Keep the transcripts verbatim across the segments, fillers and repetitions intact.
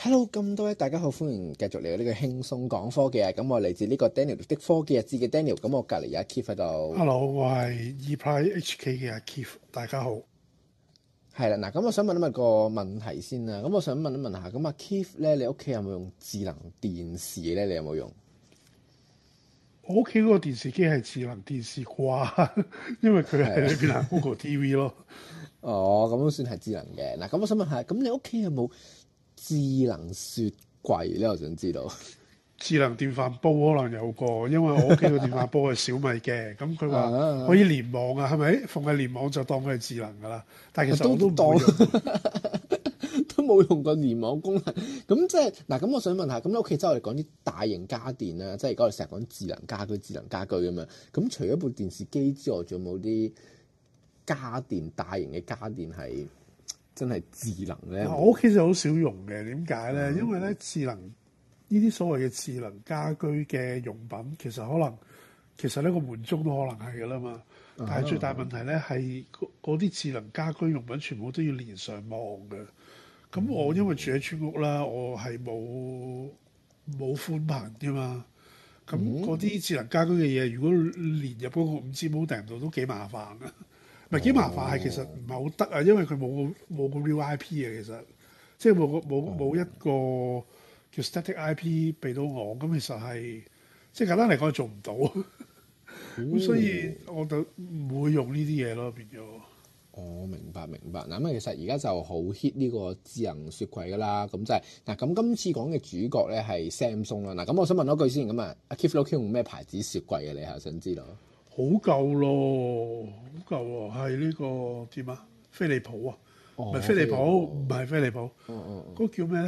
Hello，咁多位大家好，歡迎繼續嚟到呢個輕鬆講科技啊！咁我嚟自呢個 Daniel 的科技日誌嘅 Daniel，咁我隔離有阿 Keith 喺度。 Hello，我係 ePrice H K 嘅阿 Keith，大家好。 係啦，嗱，咁我想問一問個問題先啦。咁我想問一問下，咁阿 Keith 咧，你屋企有冇用智能電視咧？你有冇用？ 我屋企嗰個電視機係智能電視啩，因為佢係裏邊係 Google T V 咯。 哦，咁都算係智能嘅。嗱，咁我想問下，咁你屋企有冇智能雪櫃咧？我想知道。 智能電飯煲可能有個，因為我屋企個電飯煲係小米嘅，咁佢話可以連網啊，係咪？逢係連網就當佢係智能㗎啦。但係其實我都唔會用， 都冇用過連網功能。咁即係嗱，咁我想問下，咁你屋企即係我哋講啲大型家電啦，即係而家我哋成日講智能家居、智能家居咁樣。咁除咗部電視機之外，仲有冇啲家電大型嘅家電係真係智能咧？ 我屋企就好少用嘅，點解咧？嗯、因為咧智能。呢啲所謂嘅智能家居嘅用品，其實可能其實呢個門鐘都可能係㗎啦嘛。但係最大問題咧係嗰啲智能家居用品全部都要連上網嘅。咁我因為住喺村屋啦，我係冇冇寬頻㗎嘛。咁嗰啲智能家居嘅嘢，如果連入嗰個五 G modem 度都幾麻煩啊。唔係幾麻煩，係其實唔係好得啊，因為佢冇冇個 real I P 啊，其實即係冇個冇冇一個。叫 static I P 俾到我，咁其實係即係簡單嚟講做唔到，咁、嗯、所以我就唔會用呢啲嘢咯，變咗。 哦，明白明白。嗱，咁其實而家就好 hit 呢個智能雪櫃噶啦，咁就係、是、嗱，咁今次講嘅主角咧係 Samsung 啦。嗱，咁我想問多句先，咁啊，阿 Keith 屋企用咩牌子雪櫃嘅？你係想知道？ 好舊咯，好舊喎，係呢、這個點啊？飛利浦啊，唔係、哦、飛利浦，唔係飛利浦，嗰、 嗯嗯嗯、 個叫咩咧？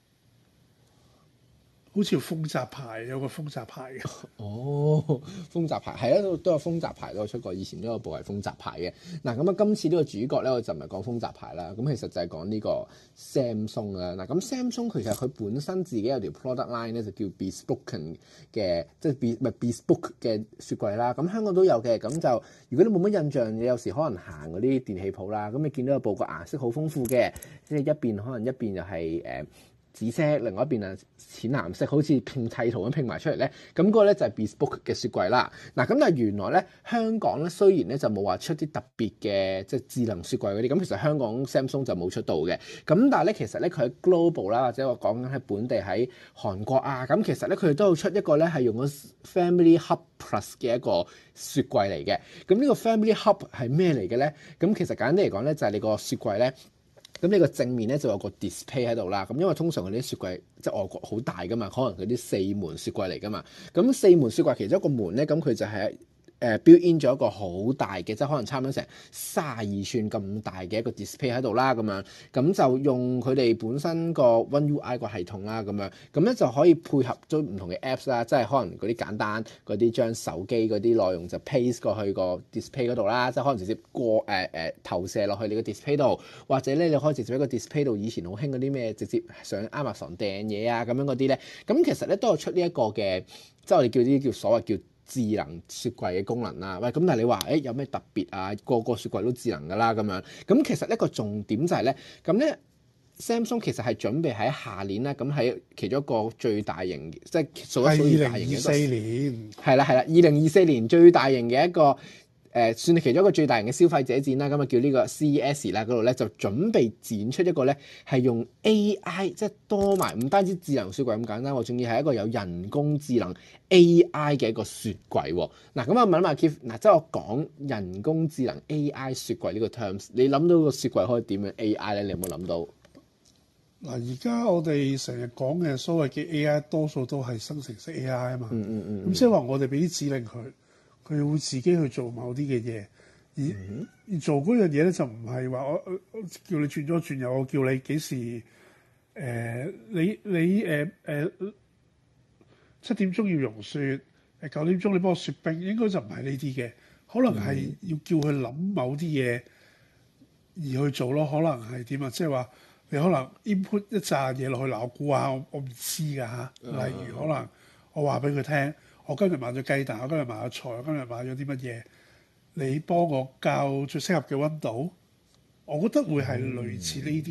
好似豐澤牌，有個豐澤牌嘅。 哦，豐澤牌係啊，都都有豐澤牌都有出過，以前都有部係豐澤牌嘅。嗱，咁啊，今次呢個主角咧，我就唔係講豐澤牌啦，咁其實就係講呢個 Samsung 啦。嗱，咁 Samsung 其實佢本身自己有條 product line 咧，就叫 Bespoken 嘅，即係 be 唔係 Bespoke 嘅雪櫃啦。咁香港都有嘅。咁就如果你冇乜印象，你有時可能行嗰啲電器鋪啦，咁你見到有部個顏色好豐富嘅，即係一邊可能一邊就係、是、誒。呃紫色，另外一邊啊淺藍色，好似拼砌圖咁拼埋出嚟咧。咁、那、嗰個咧就係 Bespoke 嘅雪櫃啦。嗱，咁但係原來咧香港咧雖然咧就冇話出啲特別嘅即係智能雪櫃嗰啲，咁其實香港 Samsung 就冇出到嘅。咁但係咧其實咧佢喺 global 啦，或者我講緊喺本地喺韓國啊，咁其實咧佢哋都有出一個咧係用咗 Family Hub Plus 嘅一個雪櫃嚟嘅。咁呢個 Family Hub 係咩嚟嘅咧？咁其實簡單啲嚟講咧就係你個雪櫃咧。咁呢個正面咧就有個 display 喺度啦。咁因為通常佢啲雪櫃即係外國好大噶嘛，可能佢啲四門雪櫃嚟噶嘛。咁四門雪櫃其中一個門咧，咁佢就係誒 build in 咗一個好大嘅，即係可能差唔多成卅二寸咁大嘅一個 display 喺度啦。咁樣咁就用佢哋本身個 One U I 個系統啦。咁樣咁咧就可以配合咗唔同嘅 apps 啦，即係可能嗰啲簡單嗰啲將手機嗰啲內容就 paste 過去個 display 嗰度啦，即係可能直接過誒誒、呃呃、投射落去你個 display 度，或者咧你可以直接喺個 display 度，以前好興嗰啲咩直接上 Amazon 訂嘢啊咁樣嗰啲咧，咁其實咧都有出呢一個嘅，即係我哋叫啲叫所謂叫智能雪櫃嘅功能啦。喂，咁但係你話誒有咩特別啊？個個雪櫃都智能㗎啦咁樣。咁其實一個重點就係咧，咁咧 Samsung 其實係準備喺下年啦，咁喺其中一個最大型，即係數一數二大型嘅一個。係二零二四年。係啦係啦，二零二四年最大型嘅一個。誒、呃、算係其中一個最大型嘅消費者展啦，咁啊叫呢個 C E S 啦，嗰度咧就準備展出一個咧係用 A I， 即係多埋唔單止智能雪櫃咁簡單喎，仲要係一個有人工智能 A I 嘅一個雪櫃喎。嗱，咁我問一問 Keith，嗱即係我講人工智能 A I 雪櫃呢個 terms， 你諗到個雪櫃可以點樣 A I 咧？你有冇諗到？ 嗱，而家我哋成日講嘅所謂嘅 A I， 多數都係生成式 A I 啊嘛。嗯嗯嗯。咁即係話我哋俾啲指令佢。佢會自己去做某啲嘅嘢，而、嗯、而做嗰樣嘢咧就唔係話我我叫你轉咗轉右，我叫你幾時誒、呃、你你誒誒七點鐘要融雪，誒九點鐘你幫我雪冰，應該就唔係呢啲嘅，可能係要叫佢諗某啲嘢而去做咯，可能係點啊？即係話你可能 input 一紮嘢落去，嗱我估下，我我唔知㗎嚇。例如可能我話俾佢聽。我今日買咗雞蛋，我今日買咗菜，我今日買咗啲乜嘢？你幫我校最適合嘅溫度，我覺得會係類似呢啲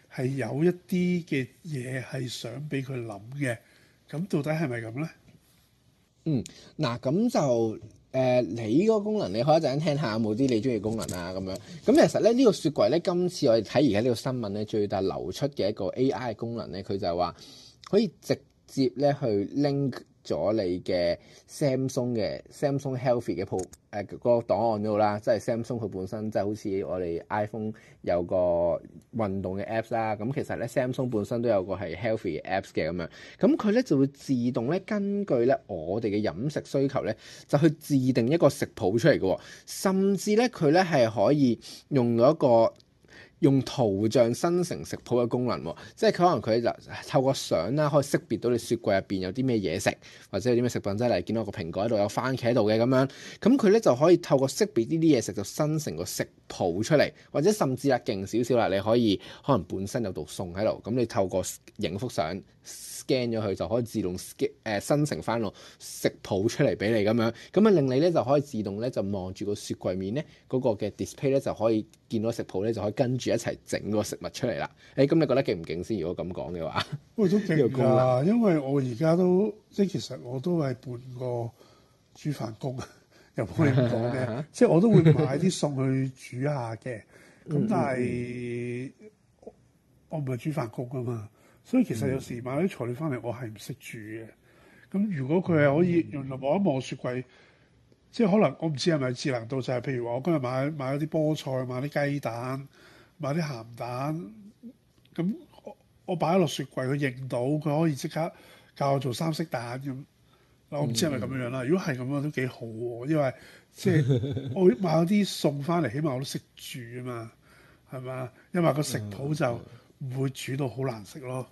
係有一啲嘅嘢係想俾佢諗嘅。咁到底係咪咁咧？ 嗯，嗱咁就誒、呃，你嗰個功能你可以一陣聽下有冇啲你中意功能啊咁樣。咁其實咧呢、這個雪櫃咧，今次我哋睇而家呢個新聞咧，最大流出嘅一個 A I 嘅功能咧，佢就係話可以直接咧去 link咗你嘅 Samsung 嘅 Samsung Healthy 嘅鋪誒個檔案嗰度啦，即係 Samsung 佢本身即係好似我哋 iPhone 有個運動嘅 Apps 啦，咁其實咧 Samsung 本身都有個係 Healthy 嘅 Apps 嘅咁樣，咁佢咧就會自動咧根據咧我哋嘅飲食需求咧，就去自定一個食譜出嚟嘅，甚至咧佢咧係可以用到一個用圖像生成食譜嘅功能喎，即係佢可能佢就透過相啦，可以識別到你雪櫃入邊有啲咩嘢食，或者有啲咩食品，即係例如見到個蘋果喺度，有番茄喺度嘅咁樣，咁佢咧就可以透過識別呢啲嘢食，就生成個食譜出嚟，或者甚至啊勁少少啦，你可以可能本身有道餸喺度，咁你透過影幅相 scan 咗佢，就可以自動 scan 誒生成翻個食譜出嚟俾你咁樣，咁啊令你咧就可以自動咧就望住個雪櫃面咧嗰個嘅 display 咧就可以見到食譜咧就可以跟住一齊整個食物出嚟啦。誒咁你覺得勁唔勁先？如果咁講嘅話， 喂都勁㗎，因為我而家都即係其實我都係半個煮飯工啊，又唔可以咁講嘅，即係我都會買啲餸去煮下嘅。咁但係我唔係煮飯工啊嘛，所以其實有時買啲材料翻嚟，我係唔識煮嘅。咁如果佢係可以用嚟望一望雪櫃，即係可能我唔知係咪智能到就係、是，譬如話我今日買買咗啲菠菜，買啲雞蛋，買啲鹹蛋，咁我我擺喺落雪櫃，佢認到，佢可以即刻教我做三色蛋咁。我唔知係咪咁樣樣啦。如果係咁樣都幾好喎，因為即係我買咗啲餸翻嚟，起碼我都識煮啊嘛，係嘛？因為個食譜就唔會煮到好難食咯。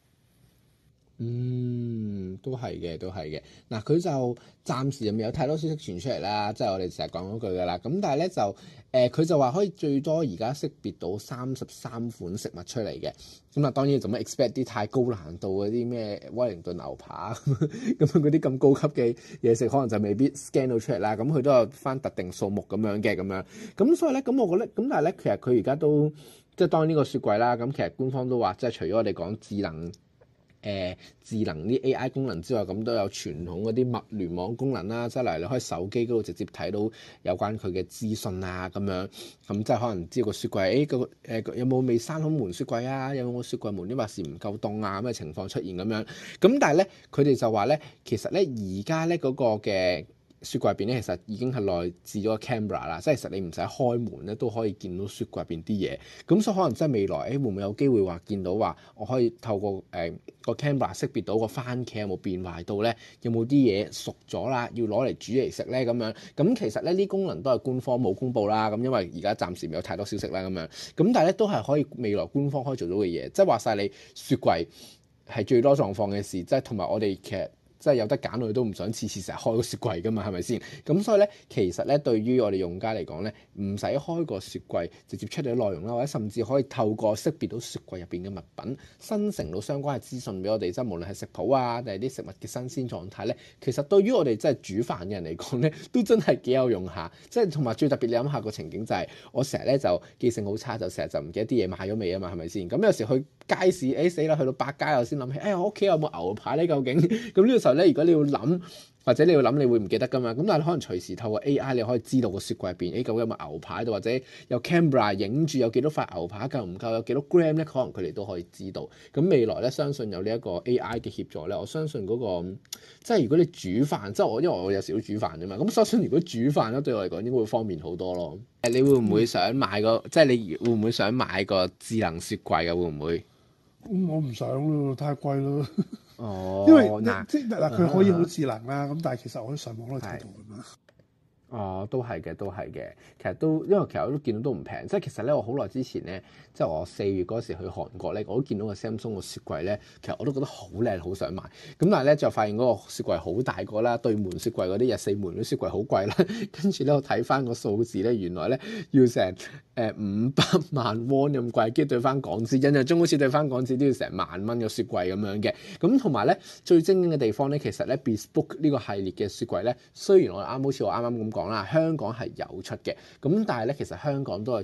嗯，都係嘅，都係嘅。嗱，佢就暫時又未有太多消息傳出嚟啦，即係我哋成日講嗰句㗎啦。咁但係咧就誒，佢、呃、就話可以最多而家識別到三十三款食物出嚟嘅。咁啊，當然就唔 expect 啲太高難度嗰啲咩威靈頓牛扒咁嗰啲咁高級嘅嘢食，可能就未必 scan 到出嚟啦。咁佢都有翻特定數目咁樣嘅咁樣。咁所以咧，咁我覺得咁，但係咧，其實佢而家都即係當然呢個雪櫃啦。咁其實官方都話，即係除咗我哋講智能。誒、呃、智能啲 A I 功能之外，咁都有傳統嗰啲物聯網功能啦，即係例如你可以手機嗰度直接睇到有關佢嘅資訊啊，咁樣咁即係可能知道個雪櫃，誒個誒有冇未閂好門雪櫃啊？有冇雪櫃門啲話是唔夠凍啊？咁嘅情況出現咁樣，咁但係咧佢哋就話咧，其實咧而家咧嗰個嘅雪櫃入邊咧，其實已經係內置咗個 camera 啦，即係其實你唔使開門咧，都可以見到雪櫃入邊啲嘢。咁所以可能真係未來，誒、欸、會唔會有機會話見到話，我可以透過誒、呃、個 camera 識別到個番茄有冇變壞到咧，有冇啲嘢熟咗啦，要攞嚟煮嚟食咧咁樣。咁其實咧呢功能都係官方冇公佈啦。咁因為而家暫時未有太多消息啦咁樣。咁但係咧都係可以未來官方可以做到嘅嘢，即係話晒你雪櫃係最多狀況嘅事，即係同埋我哋其實。即係有得揀，我哋都唔想次次成日開個雪櫃㗎嘛，係咪先？咁所以咧，其實咧，對於我哋用家嚟講咧，唔使開個雪櫃，直接出嚟啲內容啦，或者甚至可以透過識別到雪櫃入邊嘅物品，生成到相關嘅資訊俾我哋，即係無論係食譜啊，定係啲食物嘅新鮮狀態咧，其實對於我哋即係煮飯嘅人嚟講咧，都真係幾有用下。即係同埋最特別，你諗下個情景就係、是，我成日咧就記性好差，就成日就唔記得啲嘢買咗未啊嘛，係咪先？咁有時去街市，誒死啦，去到百佳我先諗起，誒、哎、我屋企有冇牛排咧？究竟咁呢個時候咧，如果你要諗或者你要諗，你會唔記得噶嘛？咁但係可能隨時透過 A I 你可以知道個雪櫃入邊，誒、哎、究竟有冇牛排喺度，或者有 camera 影住有幾多塊牛排夠唔夠，有幾多 gram 咧？可能佢哋都可以知道。咁未來咧，相信有呢一個 A I 嘅協助咧，我相信嗰、那個即係如果你煮飯，即係我因為我有時都煮飯啫嘛。咁相信如果煮飯咧，對我嚟講應該會方便好多咯。誒，你會唔會想買個？嗯、即係你會唔會想買個智能雪櫃嘅？會唔會？ 嗯、我唔想咯，太貴咯。 哦， 因為嗱， 即係嗱，佢可以好智能啦，咁、嗯、但係其實我喺上網都睇到㗎嘛。 哦，都係嘅，都係嘅。其實都因為其實我都見到都唔平，即係其實咧，我好耐之前咧，即係我四月嗰時去韓國咧，我都見到個 Samsung 個雪櫃咧，其實我都覺得好靚，好想買。咁但係咧就發現嗰個雪櫃好大個啦，對門雪櫃嗰啲日四門啲雪櫃好貴啦。跟住咧我睇翻個數字咧，原來咧要成誒五百萬 won 咁貴，跟住對翻港紙，印象中好似對翻港紙都要成萬蚊個雪櫃咁樣嘅。咁同埋咧最精英嘅地方咧，其實咧 Bespoke 呢個系列嘅雪櫃咧，雖然我啱好似我啱啱咁講啦，香港係有出嘅，咁但係咧其實香港都係出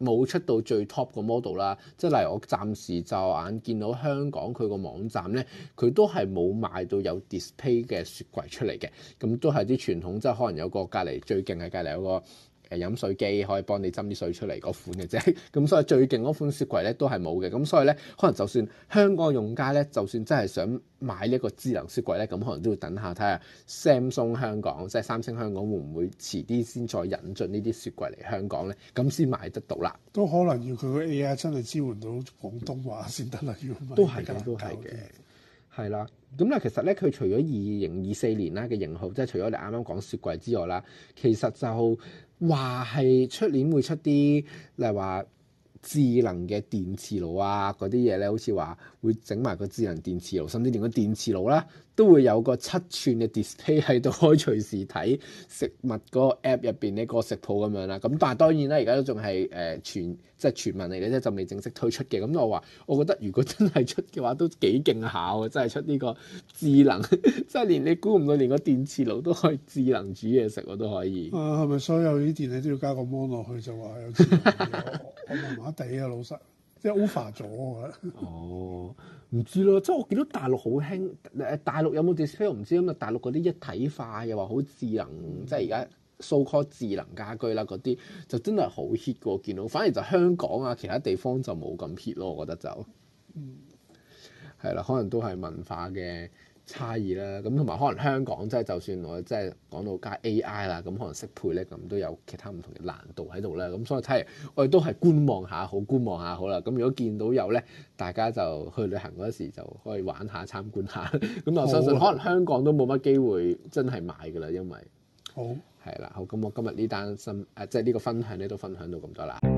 冇出到最 top 個 model 啦。即係例如我暫時就眼見到香港佢個網站咧，佢都係冇賣到有 display 嘅雪櫃出嚟嘅。咁都係啲傳統，即係可能有個隔離最勁係隔離有個。誒飲水機可以幫你斟啲水出嚟嗰款嘅啫，咁所以最勁嗰款雪櫃咧都係冇嘅，咁所以咧可能就算香港用家咧，就算真係想買呢一個智能雪櫃咧，咁可能都要等下睇下 Samsung 香港，即係三星香港會唔會遲啲先再引進呢啲雪櫃嚟香港咧，咁先買得到啦。 都可能要佢個 A I 真係支援到廣東話先得啦，要買都係嘅，都係嘅。係啦，咁咧其實咧佢除咗二零二四年啦嘅型號，即係除咗你啱啱講雪櫃之外啦，其實就話係出年會出啲，例如話智能嘅電磁爐啊嗰啲嘢咧，好似話會整埋個智能電磁爐，甚至連個電磁爐啦都會有個七寸嘅 display 喺度，可以隨時睇食物嗰個 app 入邊呢個食譜咁樣啦。咁但係當然啦，而家都仲係誒傳即係傳聞嚟嘅啫，就未正式推出嘅。咁我話我覺得如果真係出嘅話，都幾勁下喎！真係出呢個智能，即係連你估唔到，連個電磁爐都可以智能煮嘢食，我都可以。 啊，係咪所有啲電器都要加個 mon 落去就話有智能嘅？我麻麻地啊，老實。即係 over 咗啊！ 哦，唔知咯，即係我見到大陸好興誒，大陸有冇 display 我唔知，咁啊大陸嗰啲一體化又話好智能，嗯、即係而家 so called 智能家居啦，嗰啲就真係好 hit 嘅。我見到，反而就香港啊，其他地方就冇咁 hit 咯。我覺得就嗯係啦，可能都係文化嘅差異啦，咁同埋可能香港即係就算我即係講到加 A I 啦，咁可能適配咧，咁都有其他唔同嘅難度喺度啦。咁所以睇嚟我哋都係觀望下好，觀望下好啦。咁如果見到有咧，大家就去旅行嗰時就可以玩下參觀下。咁我相信可能香港都冇乜機會真係買㗎啦，因為好係啦。好，咁我今日呢單新誒即係呢個分享咧都分享到咁多啦。